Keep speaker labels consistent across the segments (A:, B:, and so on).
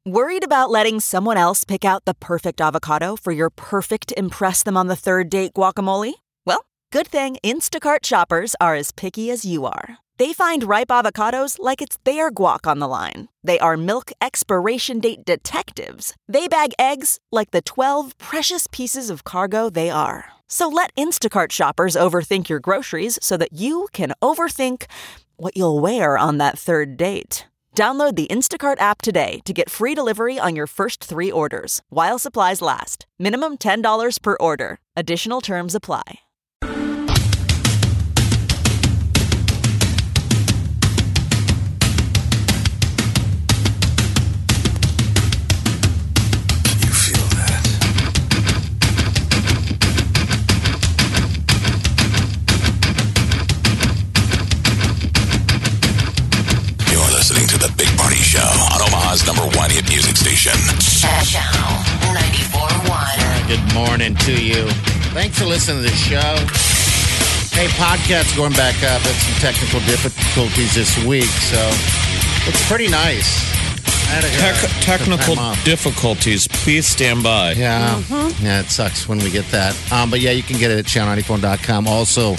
A: Worried about letting someone else pick out the perfect avocado for your perfect impress them on the third date guacamole? Well, good thing Instacart shoppers are as picky as you are. They find ripe avocados like it's their guac on the line. They are milk expiration date detectives. They bag eggs like the 12 precious pieces of cargo they are. So let Instacart shoppers overthink your groceries so that you can overthink what you'll wear on that third date. Download the Instacart app today to get free delivery on your first 3 orders, while supplies last. Minimum $10 per order. Additional terms apply.
B: You feel that? You're listening to The Big Party Show on Omaha's #1 hit music station.
C: Channel 94.1.
D: Good morning to you. Thanks for listening to the show. Hey, podcast's going back up. Had some technical difficulties this week, so it's pretty nice. I had
E: Technical
D: some time off.
E: difficulties. Please stand by.
D: Yeah. Yeah, it sucks when we get that. But yeah, you can get it at channel94.com. Also,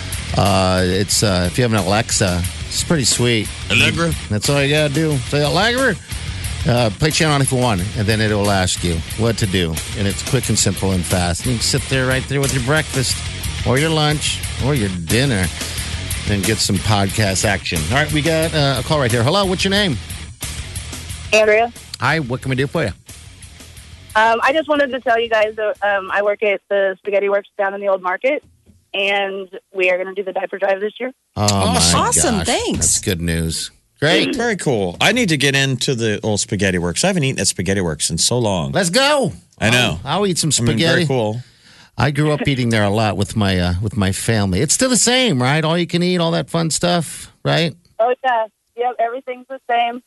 D: it's if you have an Alexa, it's pretty sweet.
E: Allegra?
D: That's all you got to do. Say, Allegra, play Channel 94.1, and then it'll ask you what to do. And it's quick and simple and fast. And you can sit there right there with your breakfast or your lunch or your dinner and get some podcast action. All right, we got a call right here. Hello, what's your name?
F: Andrea.
D: Hi, what can we do for you?
F: I just wanted to tell you guys that I work at the Spaghetti Works down in the Old Market, and we are going to do the diaper drive this year.
D: Oh, my
G: Awesome,
D: gosh.
G: thanks.
D: That's good news. Great.
E: Very cool. I need to get into the old Spaghetti Works. I haven't eaten at Spaghetti Works in so long.
D: Let's go.
E: I know.
D: I'll eat some
E: I mean,
D: spaghetti.
E: very cool.
D: I grew up eating there a lot with my family. It's still the same, right? All you can eat, all that fun stuff, right?
F: Oh, yeah. Yep, everything's the same.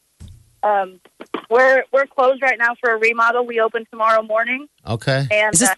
F: We're closed right now for a remodel. We open tomorrow morning.
D: Okay.
F: And
G: Is this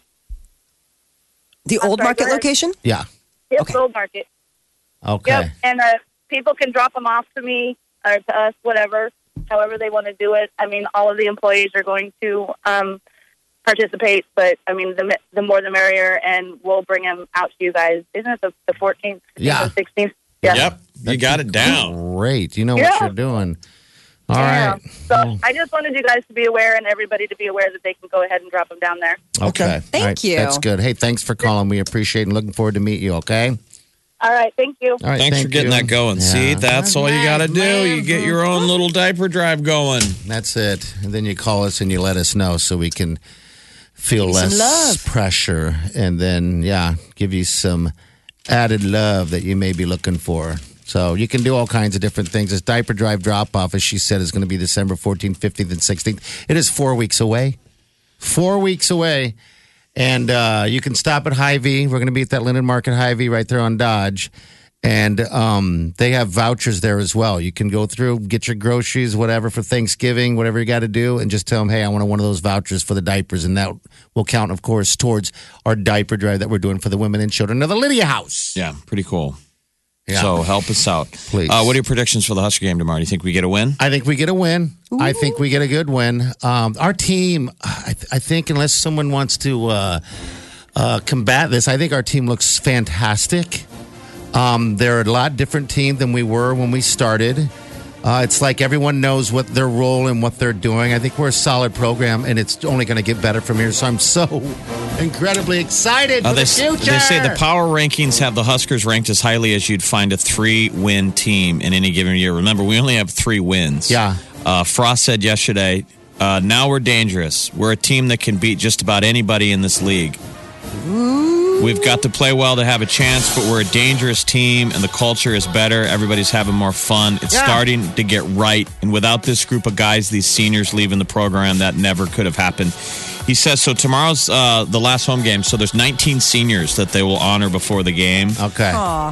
G: the
F: I'm
G: Old
F: sorry,
G: Market
F: go ahead.
G: location?
D: Yeah.
F: yep,
G: okay.
F: Old Market.
D: Okay.
F: Yep, and people can drop them off to me or to us, whatever, however they want to do it. I mean, all of the employees are going to participate, but I mean, the more the merrier, and we'll bring them out to you guys. Isn't it the 14th, 15th,
D: Yeah.
F: and 16th? Yeah.
E: Yep. You got it down.
D: Great. You know what
F: Yeah.
D: you're doing. All
F: Yeah.
D: right.
F: So I just wanted you guys to be aware and everybody to be aware that they can go ahead and drop them down there.
D: Okay.
G: Thank
D: All right.
G: you.
D: That's good. Hey, thanks for calling. We appreciate it and looking forward to meet you, okay?
F: All right. Thank you.
D: All right.
E: Thanks
D: thank
E: for getting
D: you.
E: that going. See,
D: Yeah.
E: that's all you got to do. You get your own little diaper drive going.
D: That's it. And then you call us and you let us know so we can feel
G: Give you some
D: less
G: love.
D: pressure and then, give you some added love that you may be looking for. So you can do all kinds of different things. This diaper drive drop-off, as she said, is going to be December 14th, 15th, and 16th. It is 4 weeks away. 4 weeks away. And you can stop at Hy-Vee. We're going to be at that Linden Market Hy-Vee right there on Dodge. And they have vouchers there as well. You can go through, get your groceries, whatever, for Thanksgiving, whatever you got to do, and just tell them, hey, I want one of those vouchers for the diapers. And that will count, of course, towards our diaper drive that we're doing for the women and children of the Lydia House.
E: Yeah, pretty cool.
D: Yeah.
E: So help us out.
D: Please.
E: What are your predictions for the Husker game tomorrow? Do you think we get a win?
D: I think we get a win. I think we get a good win. Our team, I think, unless someone wants to combat this, I think our team looks fantastic. They're a lot different team than we were when we started. It's like everyone knows what their role and what they're doing. I think we're a solid program, and it's only going to get better from here. So I'm so incredibly excited for the future.
E: They say the power rankings have the Huskers ranked as highly as you'd find a 3-win team in any given year. Remember, we only have 3 wins.
D: Yeah.
E: Frost said yesterday, now we're dangerous. We're a team that can beat just about anybody in this league. We've got to play well to have a chance, but we're a dangerous team, and the culture is better. Everybody's having more fun. It's starting to get right. And without this group of guys, these seniors leaving the program, that never could have happened. He says, so tomorrow's the last home game, so there's 19 seniors that they will honor before the game.
D: Okay.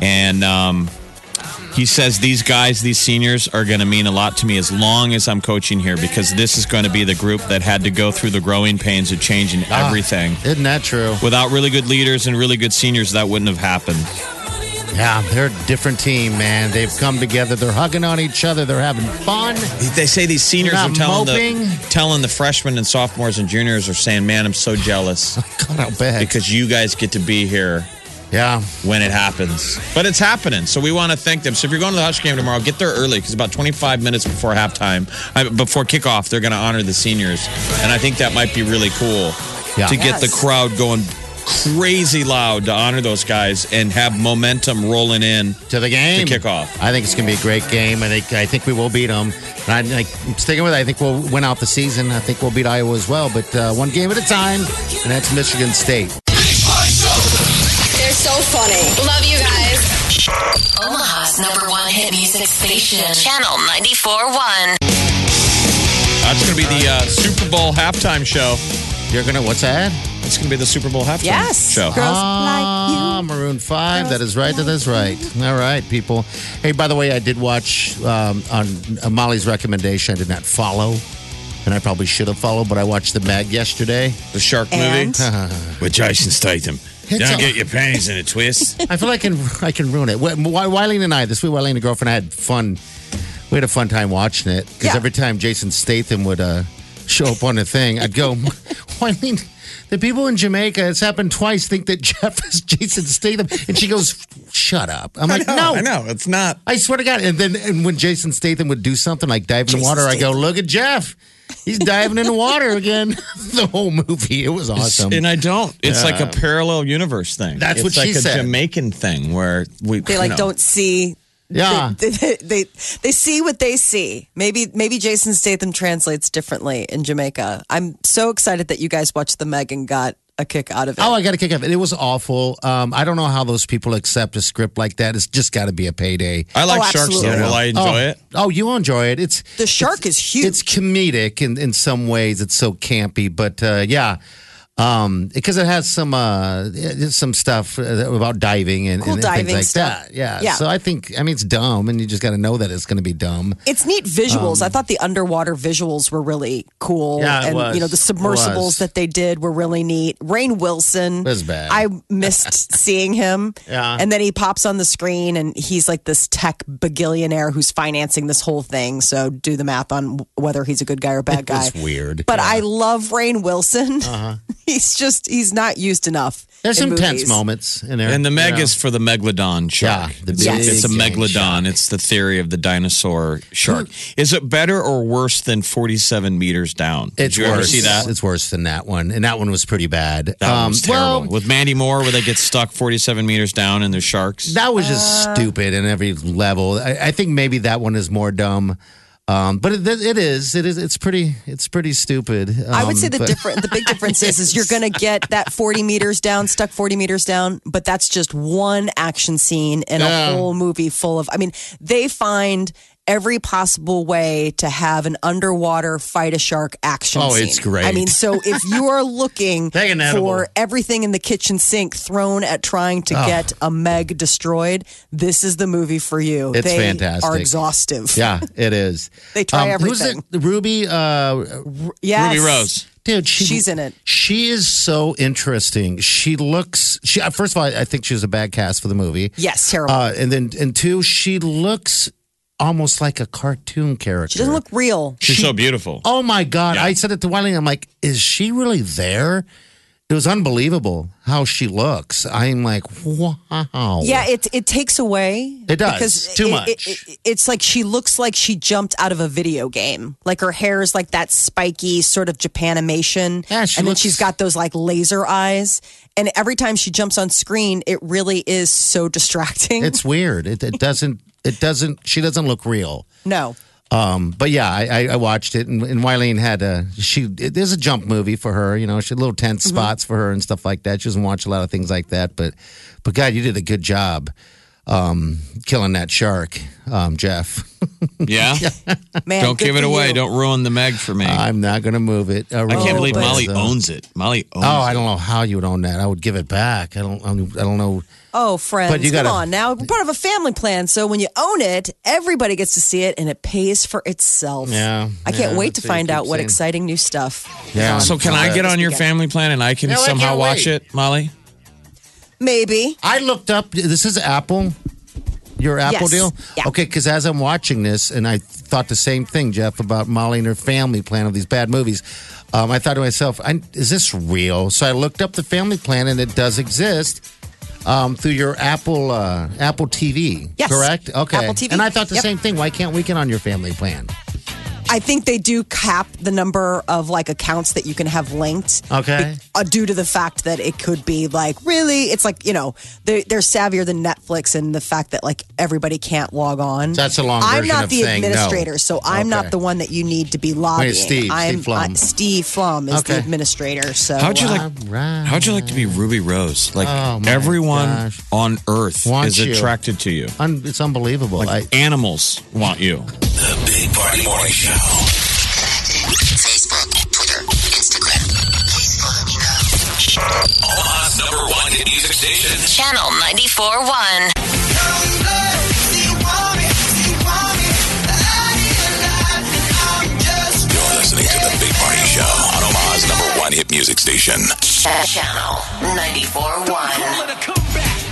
E: And he says these guys, these seniors, are going to mean a lot to me as long as I'm coaching here, because this is going to be the group that had to go through the growing pains of changing everything.
D: Isn't that true?
E: Without really good leaders and really good seniors, that wouldn't have happened.
D: Yeah, they're a different team, man. They've come together. They're hugging on each other. They're having fun.
E: They say these seniors
D: They're
E: are
D: not
E: telling the freshmen and sophomores and juniors are saying, man, I'm so jealous
D: God, I'll bet.
E: because you guys get to be here
D: Yeah.
E: when it happens. But it's happening, so we want to thank them. So if you're going to the Hush game tomorrow, get there early because about 25 minutes before halftime, before kickoff, they're going to honor the seniors. And I think that might be really cool to get the crowd going crazy loud to honor those guys and have momentum rolling in
D: to the game.
E: To kickoff.
D: I think it's going to be a great game. I think we will beat them. And I'm sticking with it. I think we'll win out the season. I think we'll beat Iowa as well. But one game at a time, and that's Michigan State.
C: They're so funny. Love you guys. Omaha's #1 hit music station. Channel 94.1.
E: That's going to be the Super Bowl halftime show.
D: You're going to, what's that?
E: It's going to be the Super Bowl halftime show.
G: Girls like you.
D: Maroon 5. That is right. That is right. All right, people. Hey, by the way, I did watch on Molly's recommendation. I did not follow, and I probably should have followed, but I watched The Meg yesterday.
E: The shark
G: And?
E: movie with Jason Statham. Don't get your panties in a twist.
D: I feel like I can ruin it. Wileen and I, this week, Wileen and girlfriend, I had fun. We had a fun time watching it because every time Jason Statham would show up on the thing, I'd go, Wileen, the people in Jamaica, it's happened twice, think that Jeff is Jason Statham. And she goes, shut up. I'm like, no.
E: I know. It's not.
D: I swear to God. And when Jason Statham would do something like dive in the water, I go, look at Jeff. He's diving in the water again. The whole movie. It was awesome.
E: And I don't. It's like a parallel universe thing.
D: That's what she said.
E: It's like a Jamaican thing where we
G: They don't see.
D: Yeah.
G: They see what they see. Maybe Jason Statham translates differently in Jamaica. I'm so excited that you guys watched The Meg and got a kick out of it.
D: Oh, I got a kick out of it. It was awful. I don't know how those people accept a script like that. It's just got to be a payday.
E: I like sharks,
G: absolutely.
E: though. Will I enjoy it?
D: Oh, you enjoy it.
G: The shark is huge.
D: It's comedic in some ways. It's so campy, but yeah. Because it has some stuff about diving and,
G: Cool
D: and
G: diving
D: things like
G: stuff.
D: that. Yeah.
G: Yeah.
D: So I think, it's dumb, and you just got to know that it's going to be dumb.
G: It's neat visuals. I thought the underwater visuals were really cool.
D: Yeah, it
G: and
D: was.
G: the submersibles
D: was.
G: that they did were really neat. Rainn Wilson.
D: It was bad.
G: I missed seeing him.
D: Yeah.
G: And then he pops on the screen and he's like this tech bagillionaire who's financing this whole thing. So do the math on whether he's a good guy or a bad guy.
D: It's weird.
G: But I love Rainn Wilson. He's not used enough.
D: There's
G: in
D: some tense
G: movies.
D: moments in there.
E: And the Meg
D: you know.
E: is for the megalodon shark.
D: Yeah, the
E: it's,
D: big
E: it's a
D: giant
E: megalodon.
D: shark.
E: It's the theory of the dinosaur shark. Is it better or worse than 47 meters down? Did
D: It's
E: you
D: worse.
E: ever see that?
D: It's worse than that one, and that one was pretty bad.
E: That one was terrible.
D: Well,
E: With Mandy Moore, where they get stuck 47 meters down and there's sharks.
D: that was just stupid in every level. I think maybe that one is more dumb. But it is. It's pretty stupid.
G: I would say the
D: but-
G: big difference is you're going to get that 40 meters down, stuck 40 meters down, but that's just one action scene in a whole movie full of. I mean, they find every possible way to have an underwater fight a shark action scene.
D: it's great.
G: I mean, so if you are looking
D: Take an edible.
G: for everything in the kitchen sink thrown at trying to get a Meg destroyed, this is the movie for you.
D: It's
G: they
D: fantastic.
G: are exhaustive.
D: Yeah, it is.
G: They try
D: Who's
G: everything.
D: it? Ruby.
G: Yes.
E: Ruby Rose.
D: Dude,
G: She's in it.
D: She is so interesting. She looks. First of all, I think she was a bad cast for the movie.
G: Yes, terrible.
D: And two, she looks almost like a cartoon character.
G: She doesn't look real.
E: She's so beautiful.
D: Oh my God!
E: Yeah.
D: I said it to Wiley. I'm like, is she really there? It was unbelievable how she looks. I'm like, wow.
G: Yeah, it takes away.
D: It does.
G: Because
D: Too much.
G: It's like she looks like she jumped out of a video game. Like her hair is like that spiky sort of Japanimation.
D: Yeah, she
G: and then
D: looks-
G: she's got those like laser eyes. And every time she jumps on screen, it really is so distracting.
D: It's weird. It doesn't. She doesn't look real.
G: No.
D: But yeah, I watched it, and Wileen had there's a jump movie for her. You know, she had little tense spots for her and stuff like that. She doesn't watch a lot of things like that, but God, you did a good job killing that shark, Jeff.
E: Yeah?
G: Man,
E: Don't
G: good
E: give it
G: for
E: away.
G: you.
E: Don't ruin the Meg for me.
D: I'm not going to move it.
E: I can't believe
G: but-
E: Molly owns it. Molly owns
D: Oh,
E: it.
D: I don't know how you would own that. I would give it back. I don't know.
G: Oh, friends,
D: But you
G: come
D: gotta-
G: on now. We're part of a family plan. So when you own it, everybody gets to see it and it pays for itself.
D: Yeah,
G: I can't
D: yeah,
G: wait to
D: that's what you
G: find
D: keep
G: out what
D: saying.
G: exciting new stuff.
D: Yeah.
E: So can I get on your family plan and I can
D: No, I
E: somehow
D: can't
E: watch
D: wait.
E: it, Molly?
G: Maybe.
D: I looked up. This is Apple. your Apple
G: Yes.
D: deal?
G: Yeah.
D: Okay, because as I'm watching this, and I thought the same thing, Jeff, about Molly and her family plan of these bad movies. I thought to myself, is this real? So I looked up the family plan, and it does exist through your Apple TV.
G: Yes.
D: Correct? Okay.
G: Apple TV.
D: And I thought the
G: Yep.
D: same thing. Why can't we get on your family plan?
G: I think they do cap the number of like accounts that you can have linked.
D: Okay.
G: Due to the fact that it could be like, really, it's like, they're savvier than Netflix and the fact that like everybody can't log on.
D: That's a long
G: I'm
D: version
G: not
D: of
G: the
D: saying no.
G: administrator, so I'm
D: Okay.
G: not the one that you need to be lobbying.
D: Steve Flum.
G: Steve Flum is the
D: Okay.
G: administrator. So
E: How'd you like?
D: Right.
E: How'd you like to be Ruby Rose? Like
D: Oh, my
E: everyone
D: gosh.
E: on Earth
D: Wants
E: is
D: you.
E: attracted to you.
D: It's unbelievable.
E: Like animals want you.
B: The Big Party Morning Show.
C: Facebook, Twitter, Instagram. Please follow me now.
B: Omaha's #1 hit music station.
C: Channel 94.1.
B: You're listening to the Big Party Show on Omaha's #1 hit music station.
C: Channel 94.1.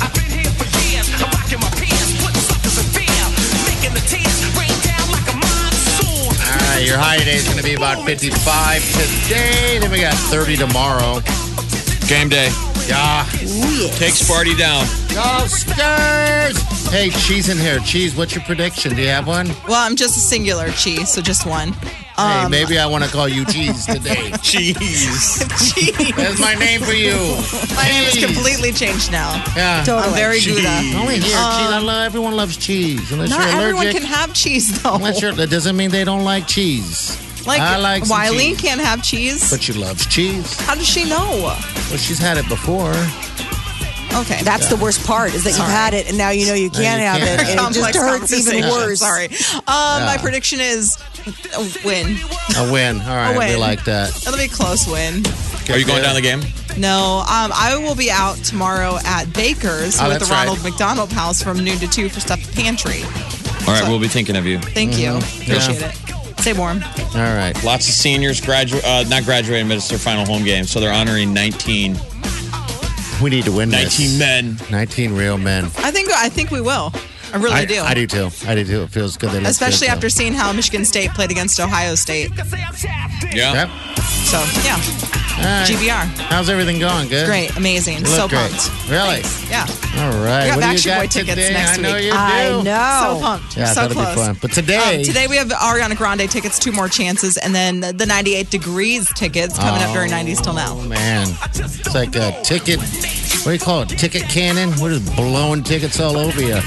D: All right, your high today is going to be about 55 today. Then we got 30 tomorrow.
E: Game day.
D: Yeah.
E: Take Sparty down.
D: Go Stars! Hey, Cheese in here. Cheese, what's your prediction? Do you have one?
H: Well, I'm just a singular cheese, so just one.
D: Hey, maybe I want to call you Cheese today.
E: Cheese.
H: Cheese.
D: That's my name for you.
H: My name is
D: Cheese.
H: completely changed now.
D: Yeah.
H: I'm very Gouda.
D: Only here, cheese. Everyone loves cheese. Unless
H: Not
D: you're
H: everyone
D: allergic.
H: can have cheese, though.
D: That doesn't mean they don't like cheese.
H: Like,
D: I like some
H: Wiley
D: cheese.
H: can't have cheese.
D: But she loves cheese.
H: How does she know?
D: Well, she's had it before.
H: Okay.
G: that's the worst part is that you've had it and now you know you can't have
D: can't.
G: it. And it just
H: Complex
G: hurts even
H: conversation.
G: worse.
H: Sorry. My prediction is a win.
D: A win. All right,
H: win.
D: we like that.
H: It'll be a close win.
E: Are you going down the game?
H: No, I will be out tomorrow at Baker's
D: Oh,
H: with the
D: that's right.
H: Ronald McDonald House from noon to 2 for Stuffed Pantry.
E: All right, we'll be thinking of you.
H: Thank you. Appreciate it. Stay warm.
D: All right.
E: Lots of seniors not graduating, but it's their final home game, so they're honoring 19
D: We need to win this.
E: men.
D: 19 real men.
H: I think we will. I really do.
D: I do too. It feels good. They look
H: Especially
D: good,
H: after seeing how Michigan State played against Ohio State.
E: Yeah.
D: Yep.
H: So, yeah.
D: All right.
H: GBR.
D: How's everything going? Good?
H: Great. Amazing.
D: You
H: So
D: look great.
H: pumped.
D: Really?
H: Thanks. Yeah.
D: All right.
H: We got
D: What do you
H: Backstreet
D: got
H: Boy tickets
D: today?
H: next
D: I know
H: week.
D: you do.
G: I know.
H: So pumped.
D: Yeah,
H: so
D: that'll
H: close.
D: be fun. But today,
H: Today we have Ariana Grande tickets, 2 more chances, and then the 98 Degrees tickets coming up during 90s till now.
D: oh man, it's like a ticket. What do you call it? Ticket cannon? We're just blowing tickets all over you.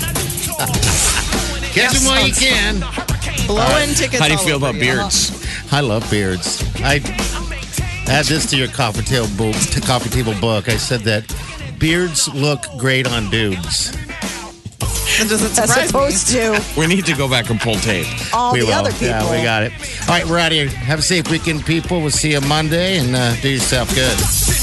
D: Get them while you can.
H: Blowing tickets.
E: How do you
H: all
E: feel
H: over
E: about
H: you.
E: beards?
D: I love beards. I add this to your coffee table book. I said that beards look great on dudes.
H: That doesn't
G: As
H: surprise me.
G: opposed to
E: We need to go back and pull tape.
G: all
D: we
G: the
D: will.
G: other people.
D: Yeah, we got it. All right, we're out of here. Have a safe weekend, people. We'll see you Monday, and do yourself good.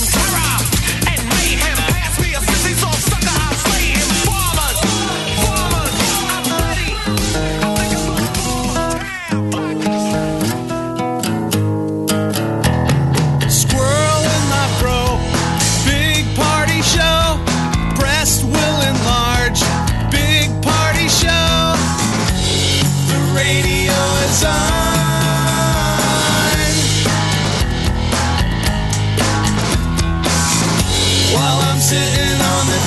I: Squirrel in my fro. Big party show. Breast will enlarge. Big party show. The radio is on. While I'm sitting on the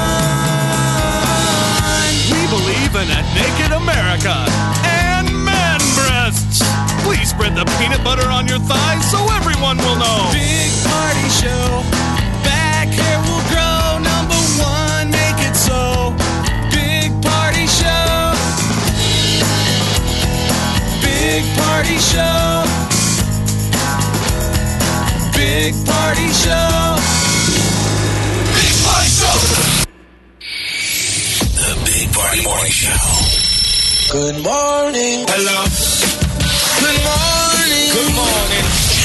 I: john. We believe in a naked America and man breasts. Please spread the peanut butter on your thighs so everyone will know. Big party show. Back hair will grow. Number 1, make it so. Big party show. Big party show. Big party show.
B: Big Party Show. The Big Party Morning Show.
I: Good morning. Hello. Good morning. Good morning.